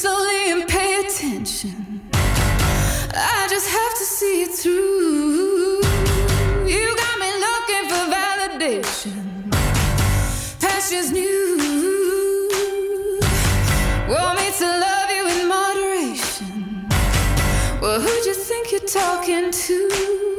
slowly and pay attention. I just have to see it through. You got me looking for validation. Past just new. Want me to love you in moderation. Well, who'd you think you're talking to?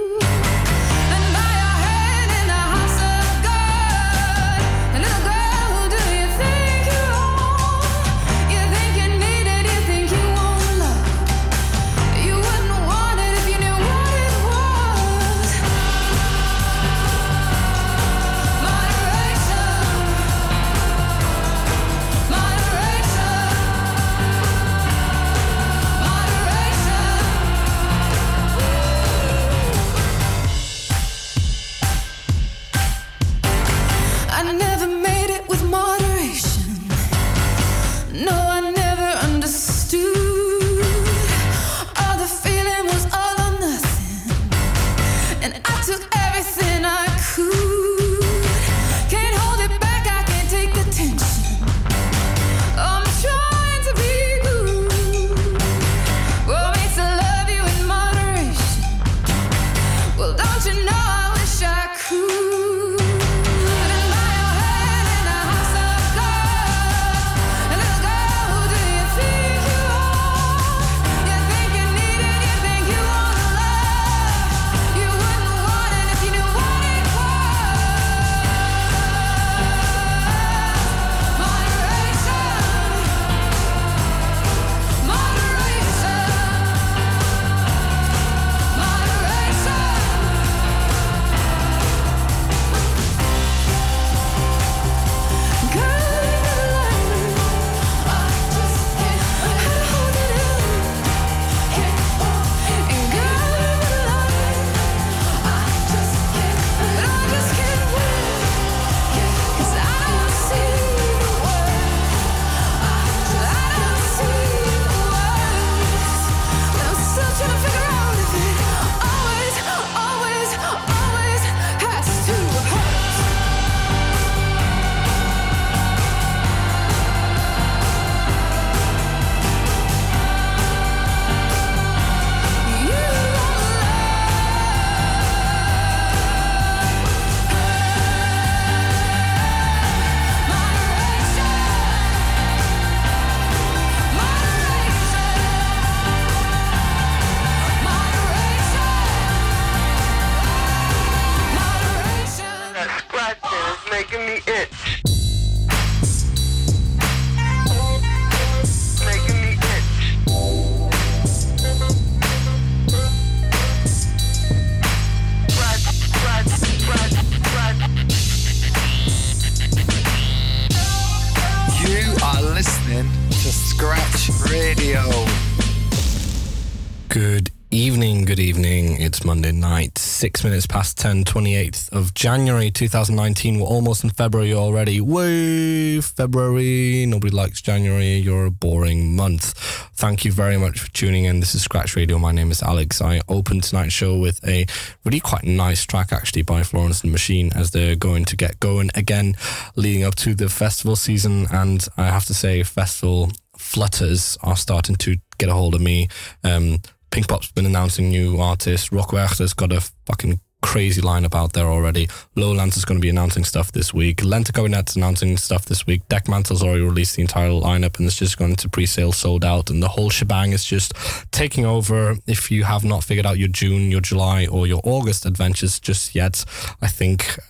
It's Monday night, 6 minutes past 10, 28th of January 2019. We're almost in February already. Woo! February. Nobody likes January. You're a boring month. Thank you very much for tuning in. This is Scratch Radio. My name is Alex. I opened tonight's show with a really quite nice track actually by Florence and the Machine as they're going to get going again leading up to the festival season. And I have to say, festival flutters are starting to get a hold of me. Pinkpop's been announcing new artists. Rockwerchter's got a fucking crazy lineup out there already. Lowlands is going to be announcing stuff this week. Lentekabinet's announcing stuff this week. Dekmantel's already released the entire lineup and it's just going to pre-sale, sold out, and the whole shebang is just taking over. If you have not figured out your June, your July, or your August adventures just yet, I think,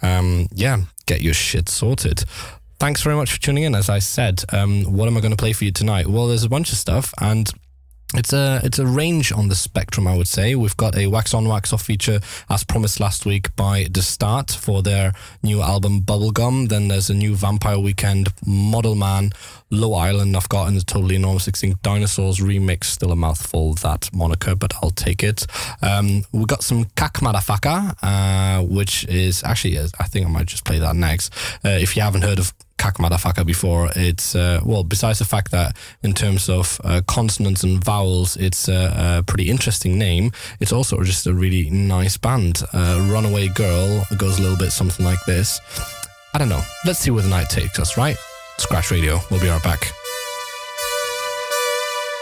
get your shit sorted. Thanks very much for tuning in. As I said, what am I going to play for you tonight? Well, there's a bunch of stuff, and it's a range on the spectrum, I would say. We've got a Wax On Wax Off feature, as promised last week, by The Start for their new album Bubblegum. Then there's a new Vampire Weekend, Model Man, Low Island I've got in the Totally Enormous Extinct Dinosaurs remix. Still a mouthful, that moniker, but I'll take it. We got some Kak Madafaka, which is actually, I think I might just play that next. If you haven't heard of Kak Madafaka before, it's besides the fact that in terms of consonants and vowels it's a pretty interesting name, it's also just a really nice band. Runaway Girl goes a little bit something like this. I don't know, let's see where the night takes us, right? Scratch Radio, we'll be right back.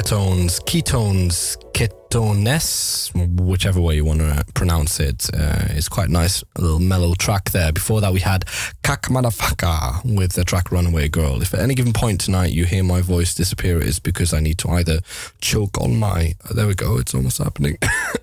Ketones, whichever way you want to pronounce it. It's quite nice, a little mellow track there. Before that we had Kak Madafaka with the track Runaway Girl. If at any given point tonight you hear my voice disappear, it's because I need to either choke on my... there we go, it's almost happening.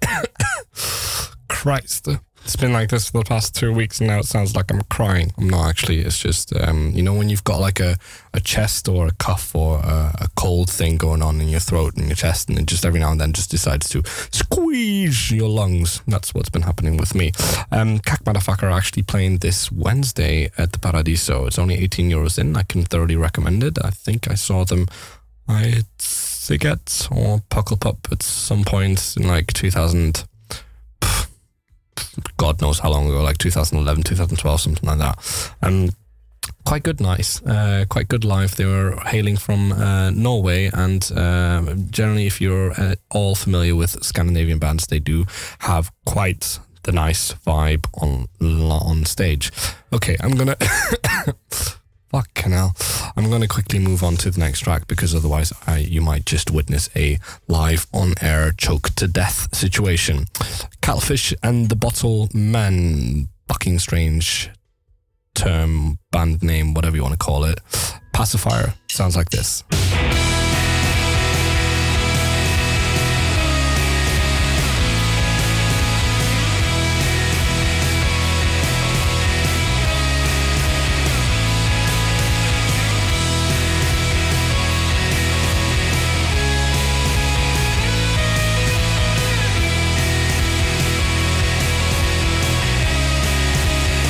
Christ. It's been like this for the past 2 weeks and now it sounds like I'm crying. I'm not actually. It's just, you know, when you've got like a chest or a cough or a cold thing going on in your throat and your chest and it just every now and then just decides to squeeze your lungs. That's what's been happening with me. Kak Madafaka are actually playing this Wednesday at the Paradiso. It's only €18 in. I can thoroughly recommend it. I think I saw them at Siget or Pucklepup at some point in like 2000... God knows how long ago, like 2011, 2012, something like that. Quite good, nice, quite good live. They were hailing from Norway, and generally, if you're all familiar with Scandinavian bands, they do have quite the nice vibe on stage. Okay, I'm gonna... Fucking hell. I'm going to quickly move on to the next track because otherwise you might just witness a live on-air choke-to-death situation. Catfish and the Bottle Men, fucking strange term, band name, whatever you want to call it. Pacifier sounds like this.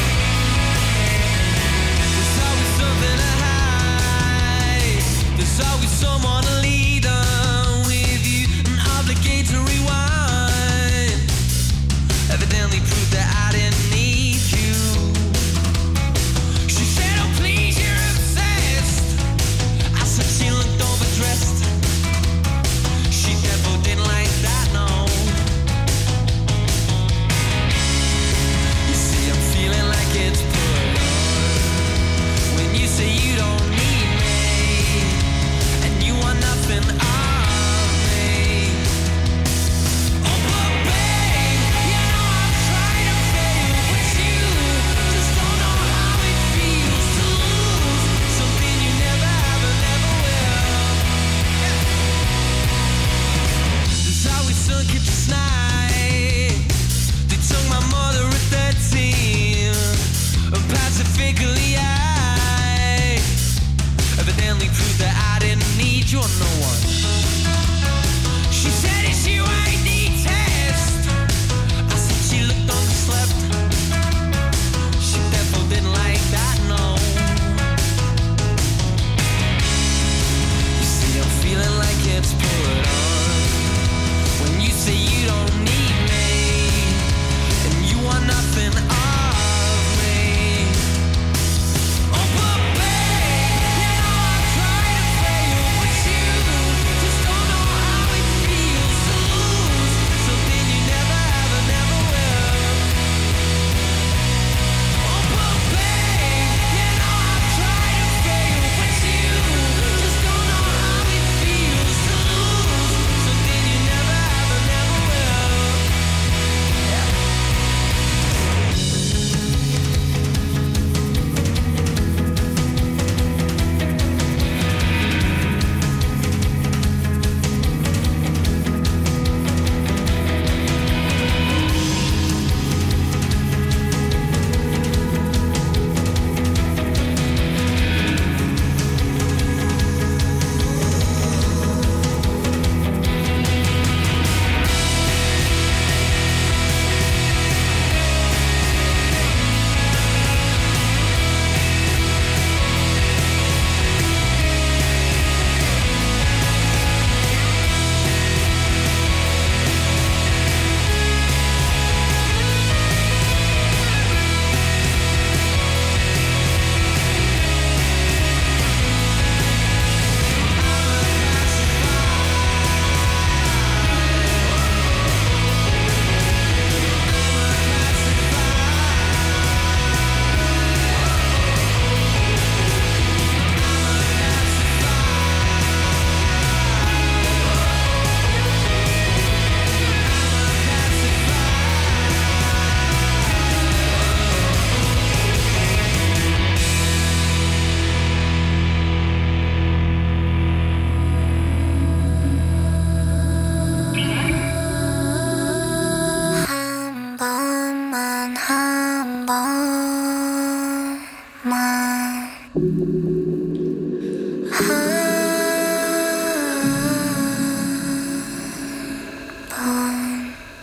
There's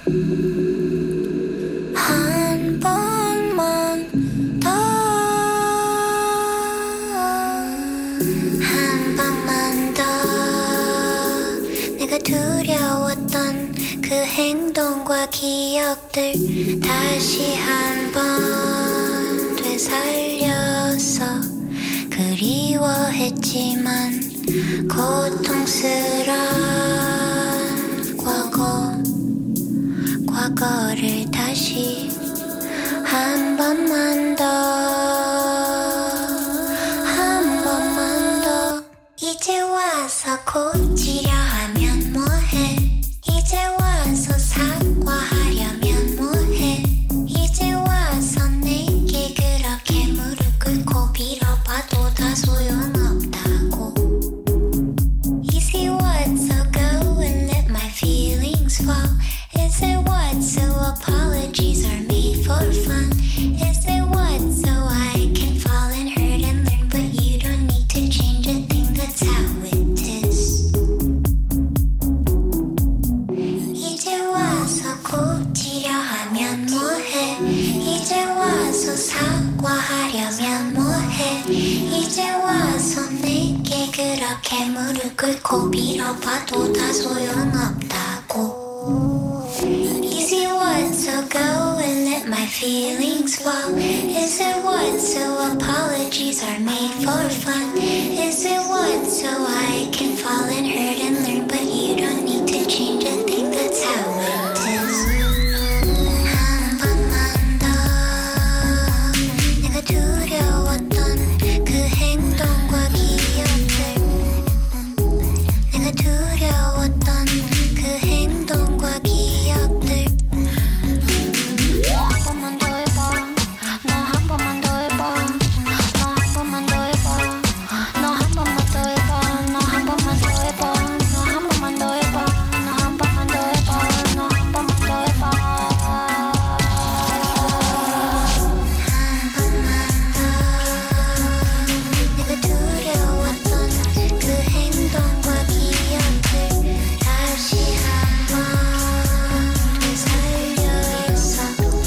한 번만 더 한 번만 더 내가 두려웠던 그 행동과 기억들 다시 한 번 되살려서 그리워했지만 고통스러운 과거를 다시 한 번만 더 한 번만 더 이제 와서 고치려 하면 뭐해 이제 와서 사과하려면 뭐해 이제 와서 내게 그렇게 무릎 꿇고 빌어봐도 다 소용없다고 Is it what so go and let my feelings fall Is it what so apologies are made for fun Is it what so I can fall and hurt and learn but you don't need to change a thing that's how it is 이제 와서 고치려 하면 뭐해 이제 와서 사과하려면 뭐해 이제 와서 내게 그렇게 무릎 꿇고 빌어봐도 다 소용없다고 Is it what so go and let my feelings fall Is it what so apologies are made for fun Is it what so I can fall and hurt and learn but you don't need to change a thing that's how it is 한 번만 더 내가 두려웠던 그 행동과 기억들 내가 두려웠던 그 행동과 기억들 한 번만 더 해봐 너 한 번만 더 해봐 너 한 번만 더 해봐 너 한 번만 더 해봐 너 한 번만 더 해봐 너 한 번만 더 해봐 너 한 번만 더 해봐 너 한 번만 더 해봐 내가 두려웠던 그 행동과 기억들 다시 한번 되살려서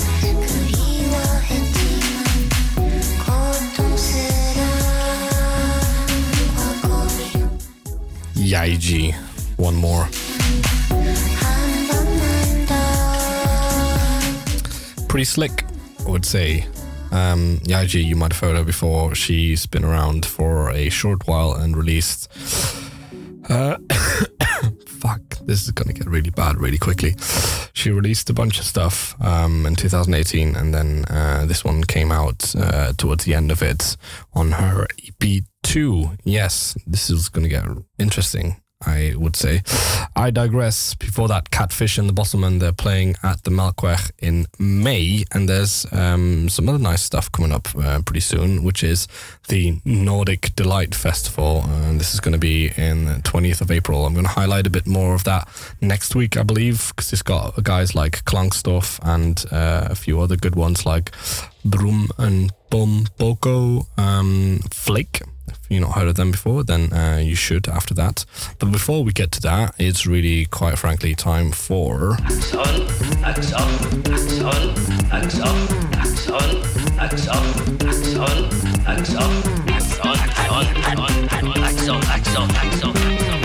그리워했지만 고통스러운 과거를 Yaiji. One more. 한 번만 더 Pretty slick, I would say. Yaiji, you might have heard her before. She's been around for a short while and released... fuck, this is going to get really bad really quickly. She released a bunch of stuff in 2018, and then this one came out towards the end of it on her EP2. Yes, this is going to get interesting, I would say. I digress. Before that, Catfish and the Bosselman, they're playing at the Melkweg in May, and there's some other nice stuff coming up pretty soon, which is the Nordic Delight Festival, and this is going to be in the 20th of April. I'm going to highlight a bit more of that next week, I believe, because it's got guys like Klangstoff and a few other good ones like Brum and Bom Boko, Flake. If you've not heard of them before, then you should after that. But before we get to that, it's really, quite frankly, time for... Axe on, axe off, axe on, axe off, axe on, axe off, axe on, axe off, axe on, axe on, axe on, axe on, axe on,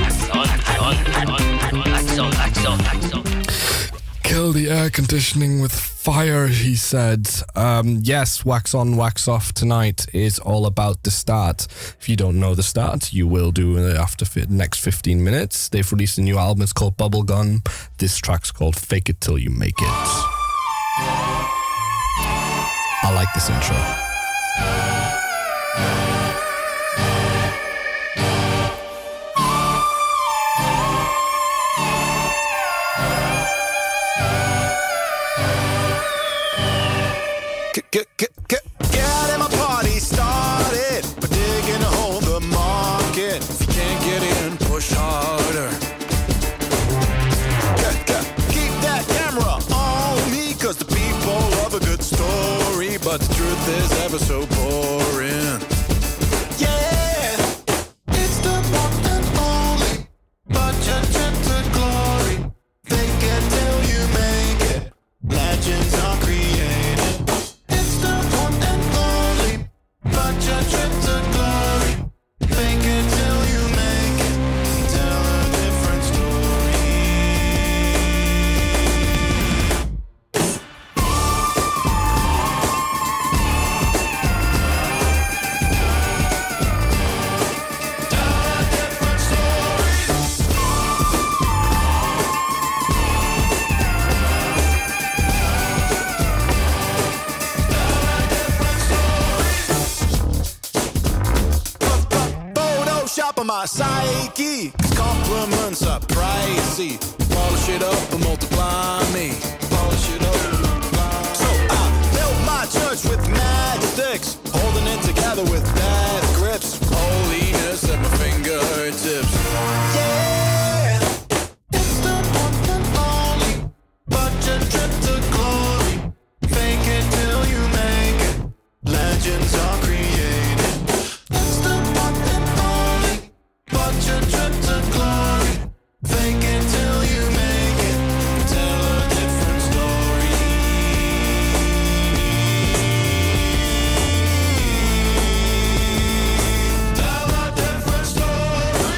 axe on, axe on, axe on. Kill the air conditioning with fire, he said. Yes, Wax On, Wax Off tonight is all about the start. If you don't know the start, you will do after the next 15 minutes. They've released a new album, it's called Bubblegum. This track's called Fake It Till You Make It. I like this intro. Get my party started by digging a hole in the market. If you can't get in, push harder. Keep that camera on me, cause the people love a good story, but the truth is ever so boring. Yeah, it's the one and only, but you're to glory. Fake it till you make it. my psyche. 'Cause compliments are pricey. Polish it up and multiply me. Polish it up and multiply me. So I built my church with matchsticks, holding it together with death grips. Holiness at my fingertips. Yeah, it's the one and only budget trip to glory. Fake it till you make it. Legends are created. It's the one and only budget trip to glory. Fake it till you make it. Tell a different story. Tell a different story.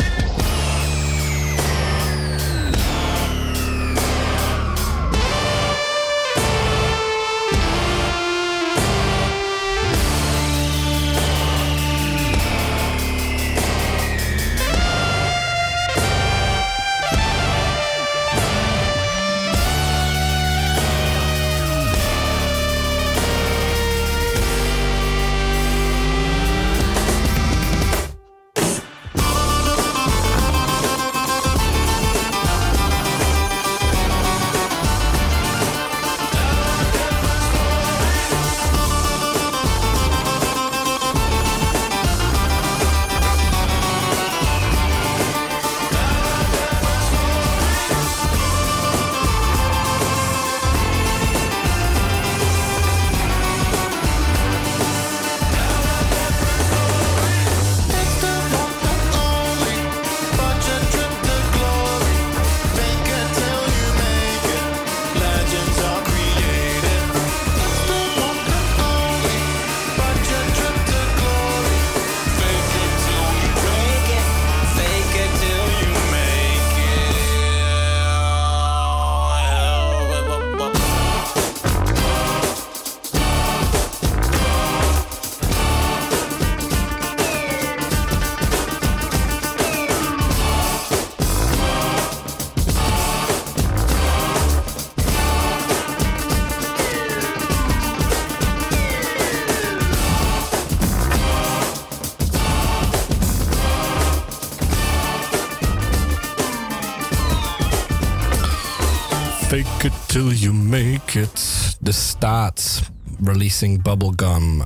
Fake it till you make it. The Stats releasing Bubblegum.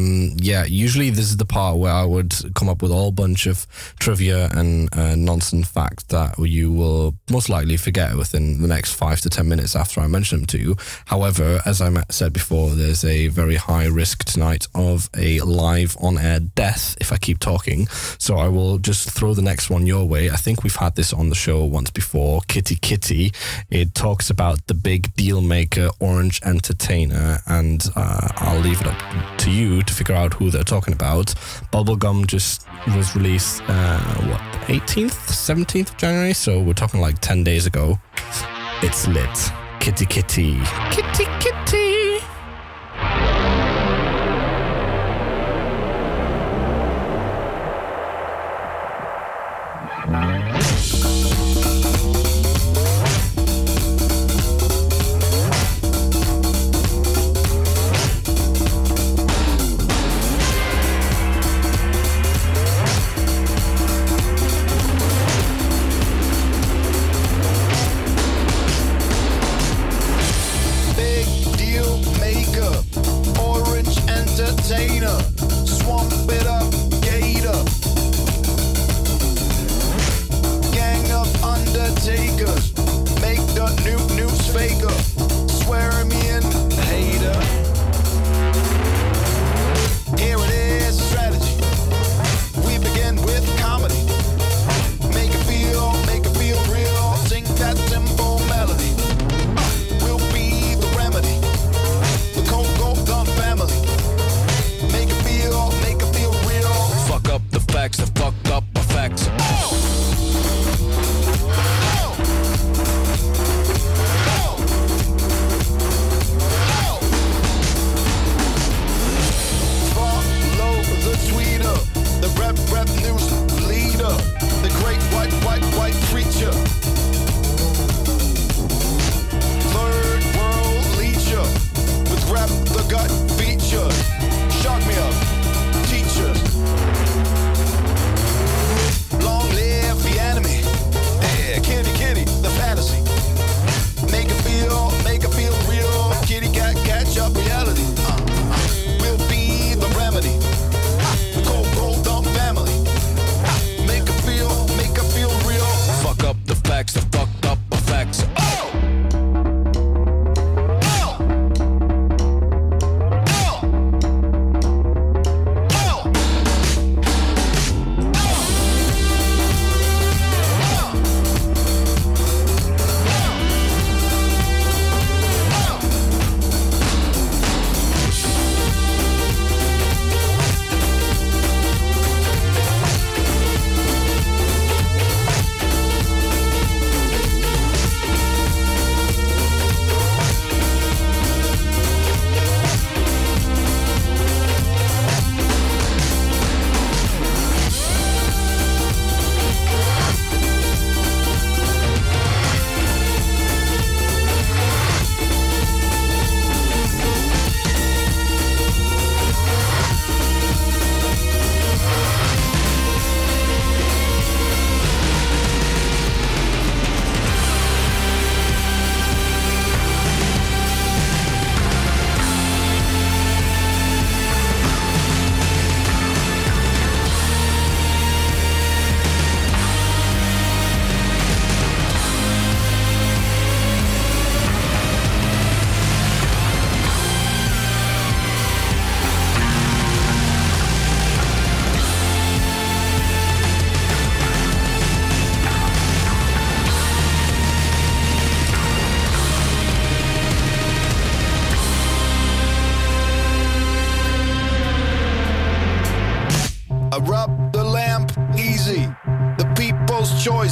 Usually this is the part where I would come up with a whole bunch of trivia and nonsense facts that you will most likely forget within the next 5 to 10 minutes after I mention them to you. However, as I said before, there's a very high risk tonight of a live on-air death if I keep talking. So I will just throw the next one your way. I think we've had this on the show once before, Kitty Kitty. It talks about the big deal maker, Orange Entertainer, and I'll leave it up to you to figure out who they're talking about. Bubblegum just was released, 18th, 17th of January? So we're talking like 10 days ago. It's lit. Kitty Kitty. Kitty Kitty. Big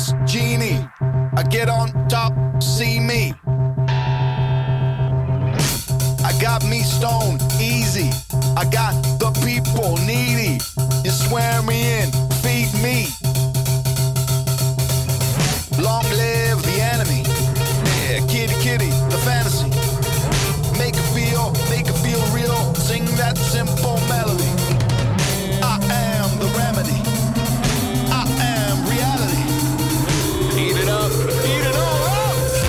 glass genie. I get on top, see me. I got me stoned, easy. I got the people needy. You swear me in, feed me. Long live the enemy. Yeah, kitty, kitty, the fantasy. Make it feel real. Sing that simple melody. I am the remedy. I am reality. Eat it up, eat it all up.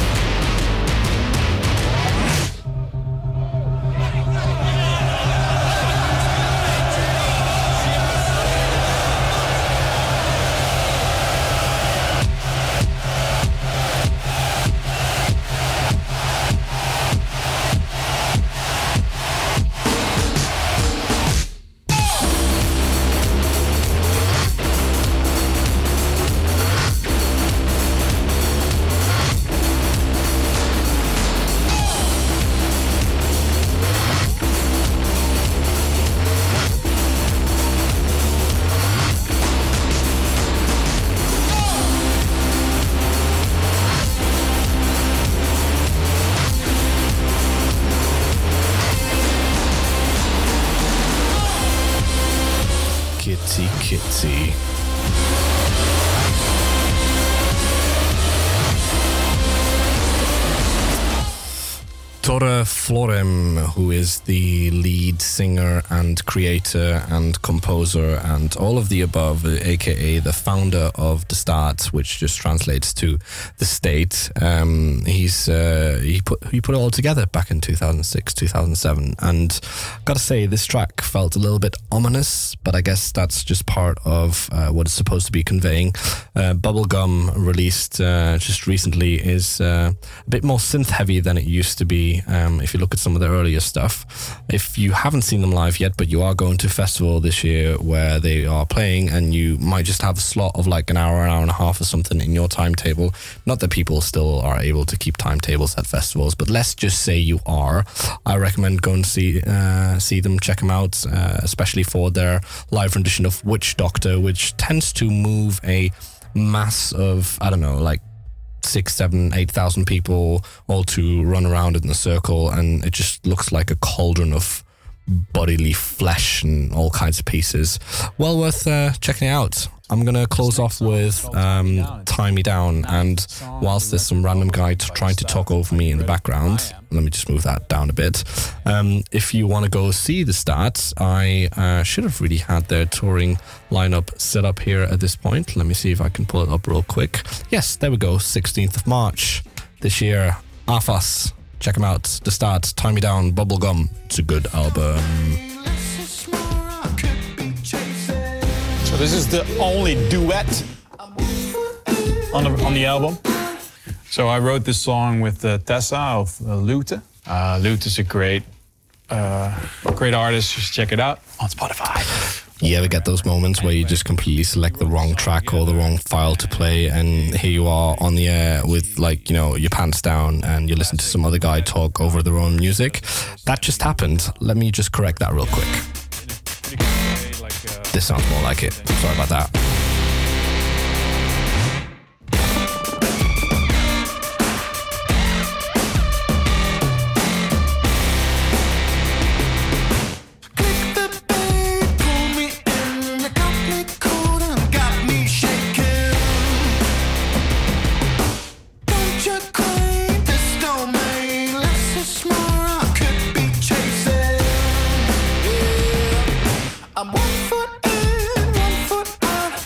Kitty. Tore Florem, who is the lead singer and creator and composer and all of the above, aka the founder of The Start, which just translates to the state. He put it all together back in 2006, 2007, and gotta say this track felt a little bit ominous, but I guess that's just part of what it's supposed to be conveying. Bubblegum, released just recently, is a bit more synth heavy than it used to be. If you look at some of their earlier stuff, if you haven't seen them live yet, but you are going to a festival this year where they are playing, and you might just have a slot of like an hour and a half or something in your timetable. Not that people still are able to keep timetables at festivals, but let's just say you are. I recommend going to see them, check them out, especially for their live rendition of Witch Doctor, which tends to move a mass of, I don't know, like 6, 7, 8,000 people all to run around in a circle, and it just looks like a cauldron of bodily flesh and all kinds of pieces. Well worth checking it out. I'm going to close off with Tie Me Down, and whilst there's some random guy trying to talk over me in the background, let me just move that down a bit. If you want to go see The Start, I should have really had their touring lineup set up here at this point. Let me see if I can pull it up real quick. Yes, there we go, 16th of March this year. AFAS, check them out. The Start, Tie Me Down, Bubblegum. It's a good album. So this is the only duet on the album. So I wrote this song with Tessa of Lute. Lute is a great artist. Just check it out on Spotify. You ever get those moments where you just completely select the wrong track or the wrong file to play, and here you are on the air with, like, you know, your pants down, and you listen to some other guy talk over their own music? That just happened. Let me just correct that real quick. This sounds more like it. Sorry about that. I'm 1 foot in, 1 foot out.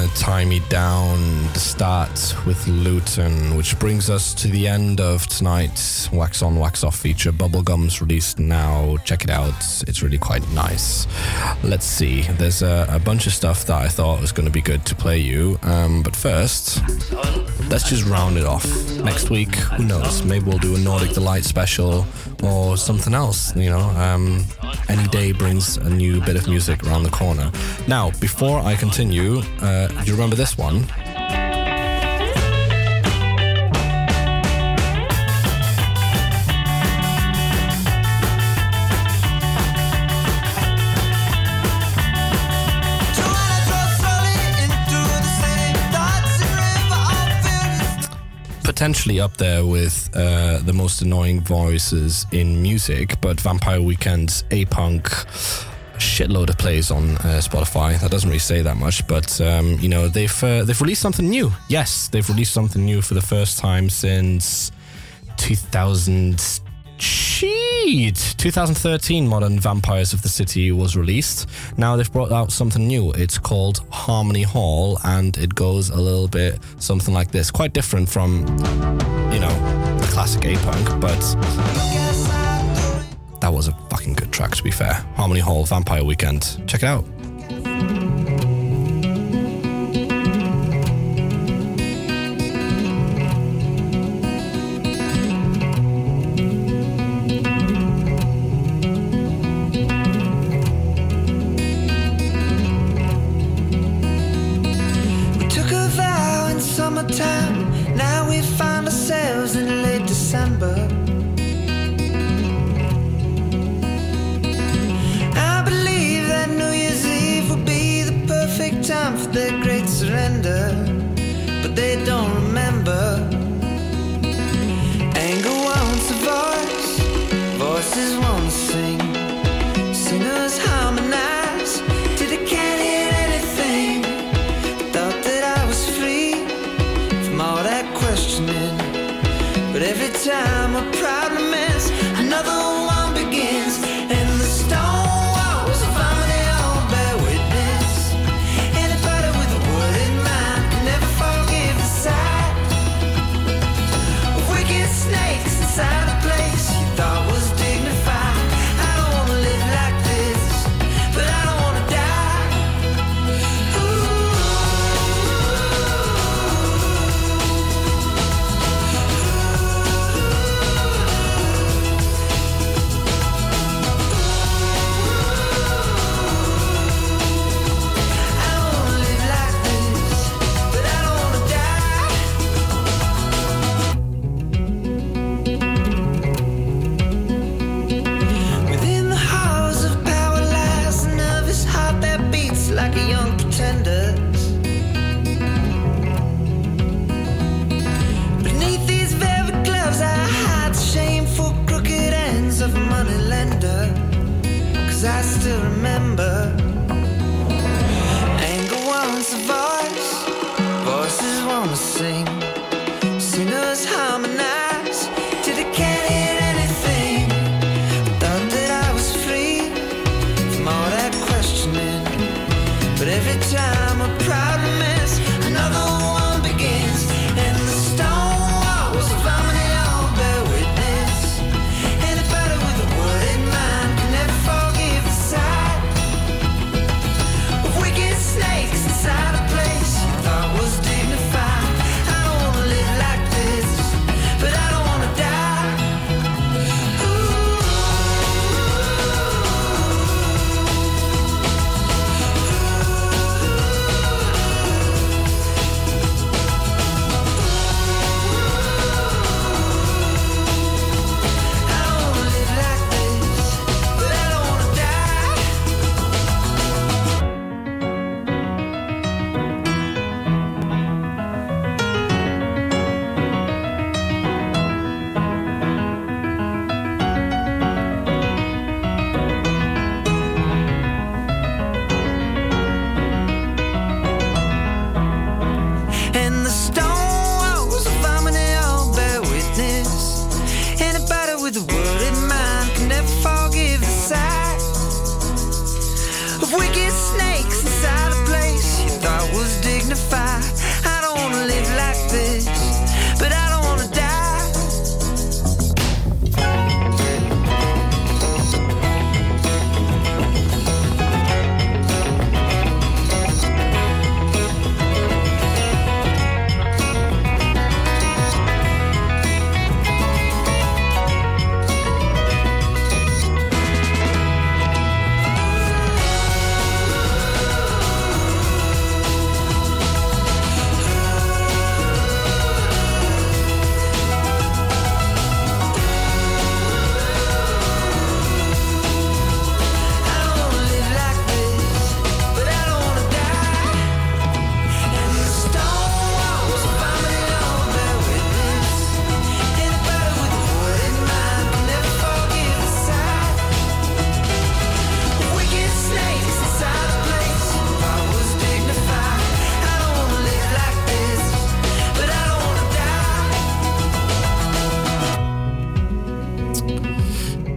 gonna tie me down the start with Luton, which brings us to the end of tonight's Wax On, Wax Off feature. Bubblegum's released now. Check it out. It's really quite nice. Let's see. There's a bunch of stuff that I thought was going to be good to play you. But first, let's just round it off. Next week, who knows? Maybe we'll do a Nordic Delight special or something else, you know. Any day brings a new bit of music around the corner. Now, before I continue, do you remember this one? Potentially up there with the most annoying voices in music, but Vampire Weekend's A-Punk, shitload of plays on Spotify. That doesn't really say that much, but you know, they've released something new. Yes, they've released something new for the first time since 2013. Modern Vampires of the City was released. Now they've brought out something new. It's called Harmony Hall, and it goes a little bit something like this. Quite different from, you know, the classic A-Punk, but that was a fucking good track, to be fair. Harmony Hall, Vampire Weekend. Check it out. Now we find ourselves in late December. I believe that New Year's Eve will be the perfect time for their great surrender, but they don't remember. Anger wants a voice, voices want to sing, singers harmonize till they can't hear anything. Thought that I was free from all that questioning, but every time a problem ends, another one begins, and the stone walls of harmony all bear witness. Anybody with a word in mind can never forgive the sight of wicked snakes inside a place you thought was dignified. I don't wanna live like this, but I don't wanna die. I don't wanna live like this, but I don't wanna die. Within the halls of power lies a nervous heart that beats like a young pretender's. Beneath these velvet gloves I hide the shameful crooked ends of a moneylender, 'cause I still remember. Anger wants a voice, voices wanna sing, singers harmonize till they can't hear anything. Thought that I was free from all that questioning, but every time a problem ends, another one begins, and the stone walls of harmony all bear witness. Anybody with a word in mind can never forgive the sight of wicked snakes inside a place you thought was dignified. I don't wanna live like this,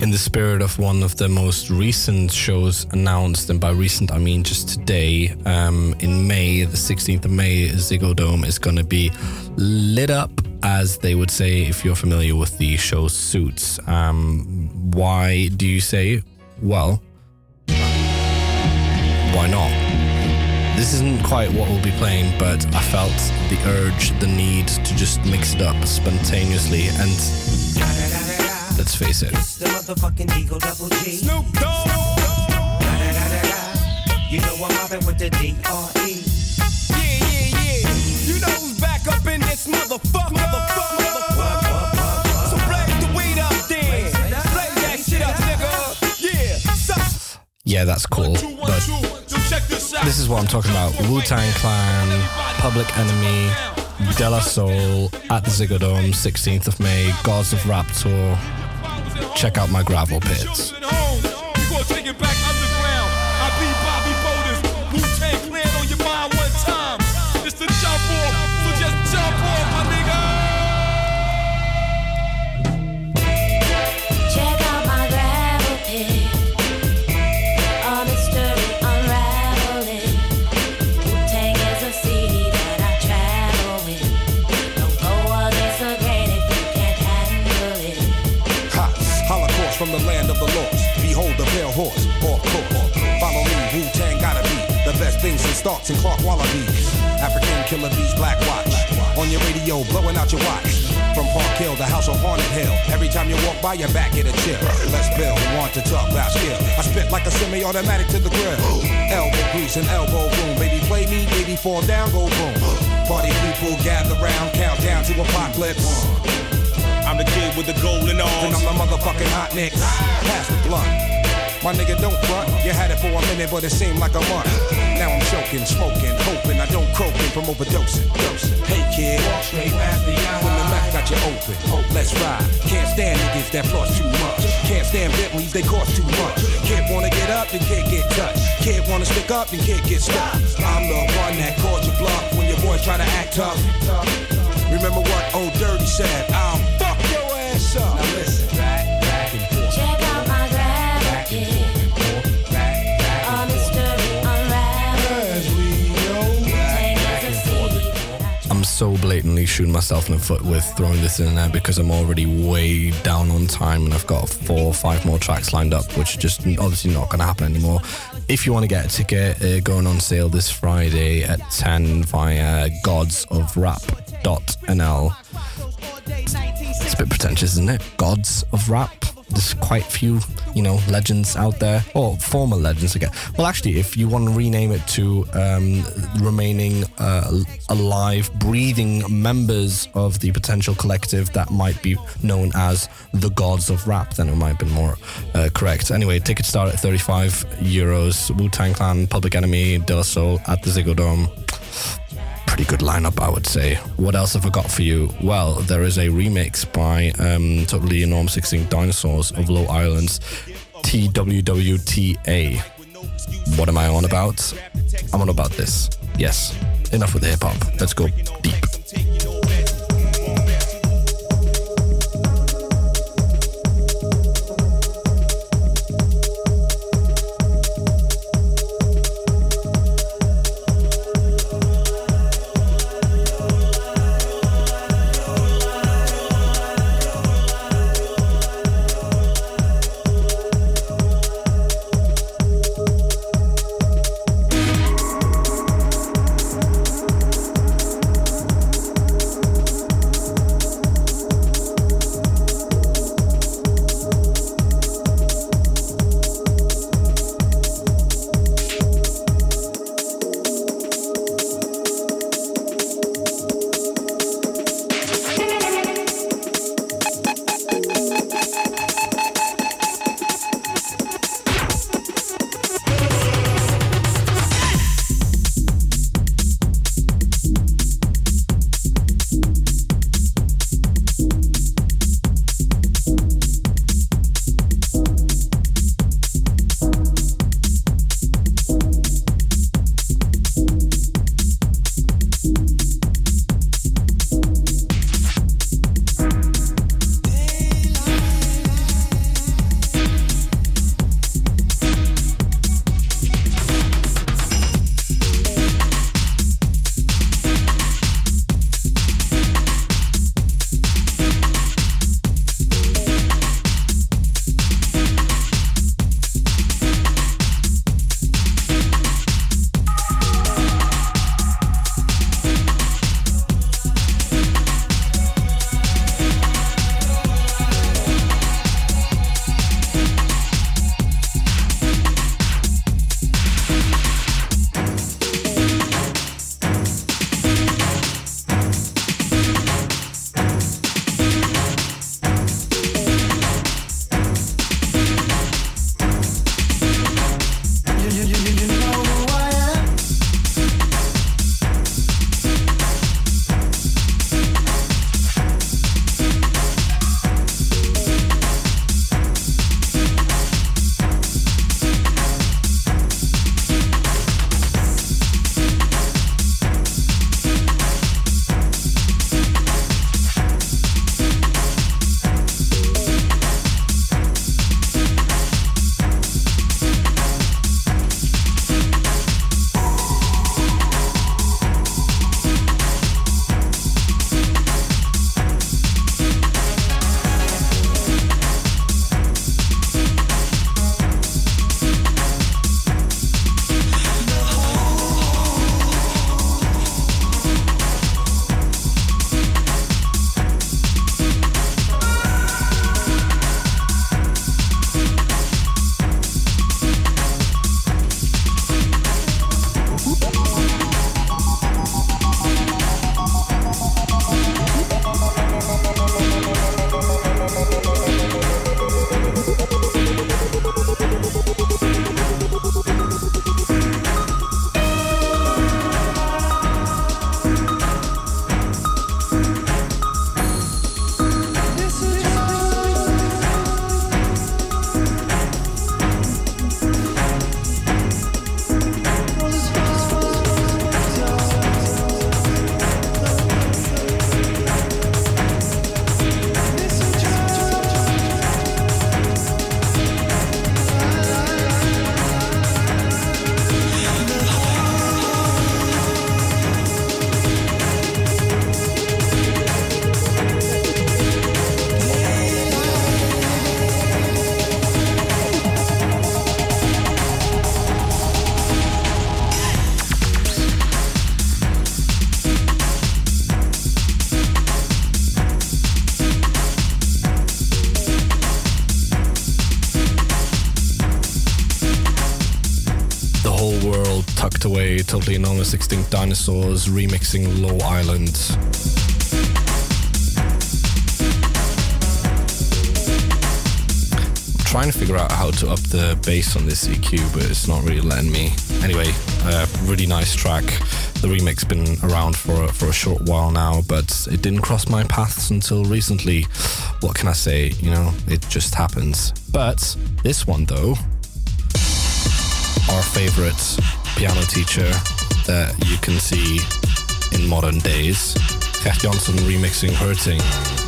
in the spirit of one of the most recent shows announced, and by recent I mean just today, in May, the 16th of May, Ziggo Dome is going to be lit up, as they would say if you're familiar with the show Suits. Why do you say? Well, why not? This isn't quite what we'll be playing, but I felt the urge, the need to just mix it up spontaneously, and let's face it. It's the motherfucking Eagle Double G. Snoop Dogg. You know I'm mobbing with the D.R.E. Yeah. You know who's back up in this motherfucker. So blaze the weed up then. Blaze that shit up, nigga. Yeah. Yeah, that's cool, but this is what I'm talking about. Wu-Tang Clan, Public Enemy, De La Soul at the Ziggo Dome, 16th of May, Gods of Rap Tour. Check out my gravel pits. You gonna take it back underground. I be Bobby Boulders. Wu-Tang Clan on your mind one time. It's the jump off, so just jump off, my nigga. Check out my gravel pit. A mystery unraveling. Wu-Tang is a city that I travel with. Don't go against the grain if you can't handle it. Holocaust from the land of the lost. Behold the pale horse, off course. Follow me, Wu-Tang gotta be the best things in Starks and Clark Wallabies. African killer bees, Black Watch. On your radio, blowing out your watch. From Park Hill, the house on Haunted Hill. Every time you walk by, your back get a chill. Let's build, want to talk about skill. I spit like a semi-automatic to the grill. Elbow grease and elbow room. Baby play me, baby fall down, go boom. Party people gather round, count down to apocalypse. I'm the kid with the golden arms. And I'm the motherfucking hot nicks. Pass the blunt. My nigga, don't front. You had it for a minute, but it seemed like a month. Now I'm choking, smoking, hoping I don't croaking from overdosing. Hey kid, walk straight past the eye. When the mouth got you open, let's ride. Can't stand niggas that floss too much. Can't stand Bentleys, they cost too much. Kid wanna get up, then kid get touched. Kid wanna stick up, then kid get stuck. I'm the one that called you bluff when your boys try to act tough. Remember what old Dirty said? I'll fuck your ass up. Now listen, back and forth. Check out my gravel pit. A mystery unraveling. Wu-Tang is a city that I I'm so blatantly shooting myself in the foot with throwing this in there because I'm already way down on time and I've got 4 or 5 more tracks lined up, which are just obviously not going to happen anymore. If you want to get a ticket, going on sale this Friday at 10 via godsofrap.nl. It's a bit pretentious, isn't it? Gods of Rap. There's quite a few, legends out there, or former legends again. Well, actually, if you want to rename it to remaining alive, breathing members of the potential collective that might be known as the Gods of Rap, then it might be more correct. Anyway, tickets start at €35. Wu-Tang Clan, Public Enemy, De La Soul at the Ziggo Dome. Pretty good lineup, I would say. What else have I got for you? Well, there is a remix by Totally Enormous Extinct Dinosaurs of Low Island's TWWTA. What am I on about? I'm on about this. Yes, enough with the hip hop. Let's go deep. Tucked Away, Totally Enormous Extinct Dinosaurs remixing Low Island. I'm trying to figure out how to up the bass on this EQ, but it's not really letting me. Anyway, really nice track. The remix been around for a short while now, but it didn't cross my paths until recently. What can I say? You know, it just happens. But this one though, our favorite piano teacher that you can see in modern days, Gert Jansson remixing Hurting.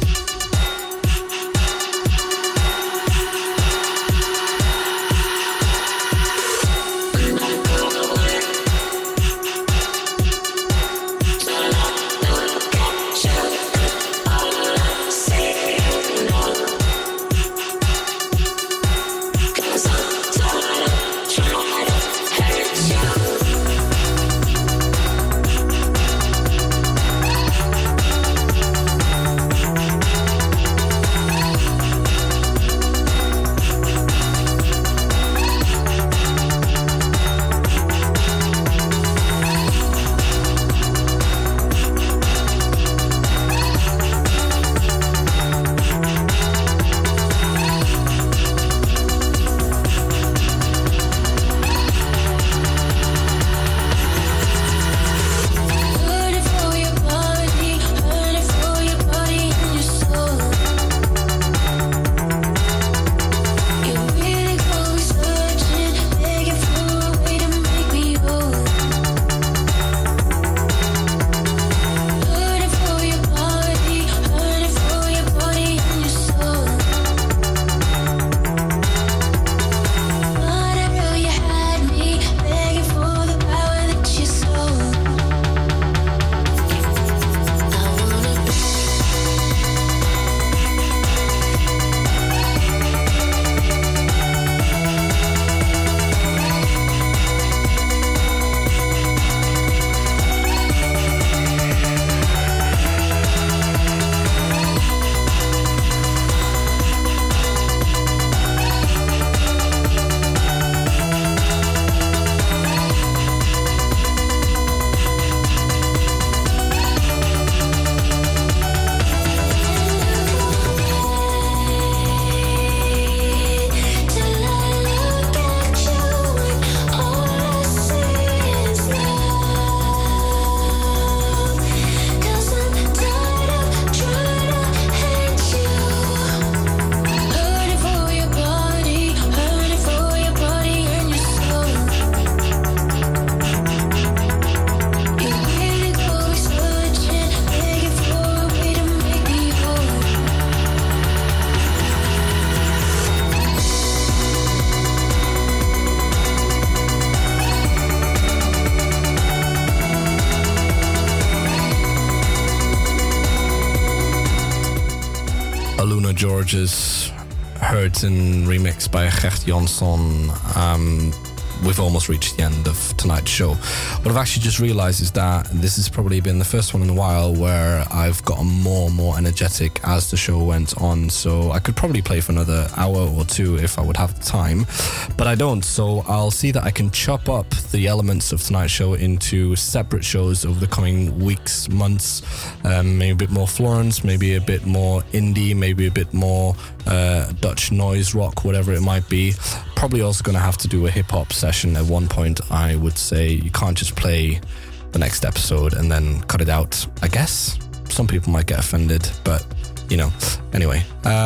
Aluna George's Hurtin remix by Gert Jansson. We've almost reached the end of tonight's show. What I've actually just realised is that this has probably been the first one in a while where I've gotten more and more energetic as the show went on. So I could probably play for another hour or two if I would have the time, but I don't. So I'll see that I can chop up the elements of tonight's show into separate shows over the coming weeks, months. Maybe a bit more Florence, maybe a bit more indie, maybe a bit more Dutch noise rock, whatever it might be. Probably also going to have to do a hip-hop session at one point. I would say you can't just play the next episode and then cut it out. I guess some people might get offended, but you know. Anyway,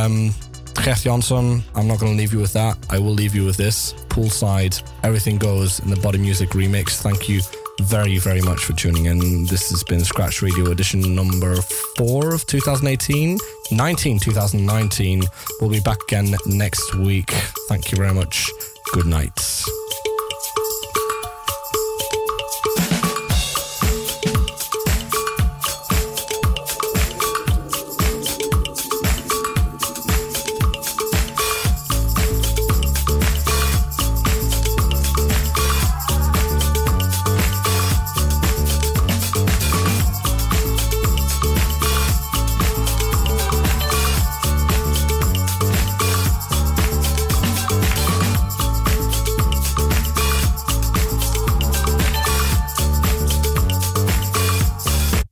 Gert Jansson, I'm not going to leave you with that. I will leave you with this. Poolside, Everything Goes in the Body Music remix. Thank you very, very much for tuning in. This has been Scratch Radio edition number 4 of 2019. 2019. We'll be back again next week. Thank you very much. Good night.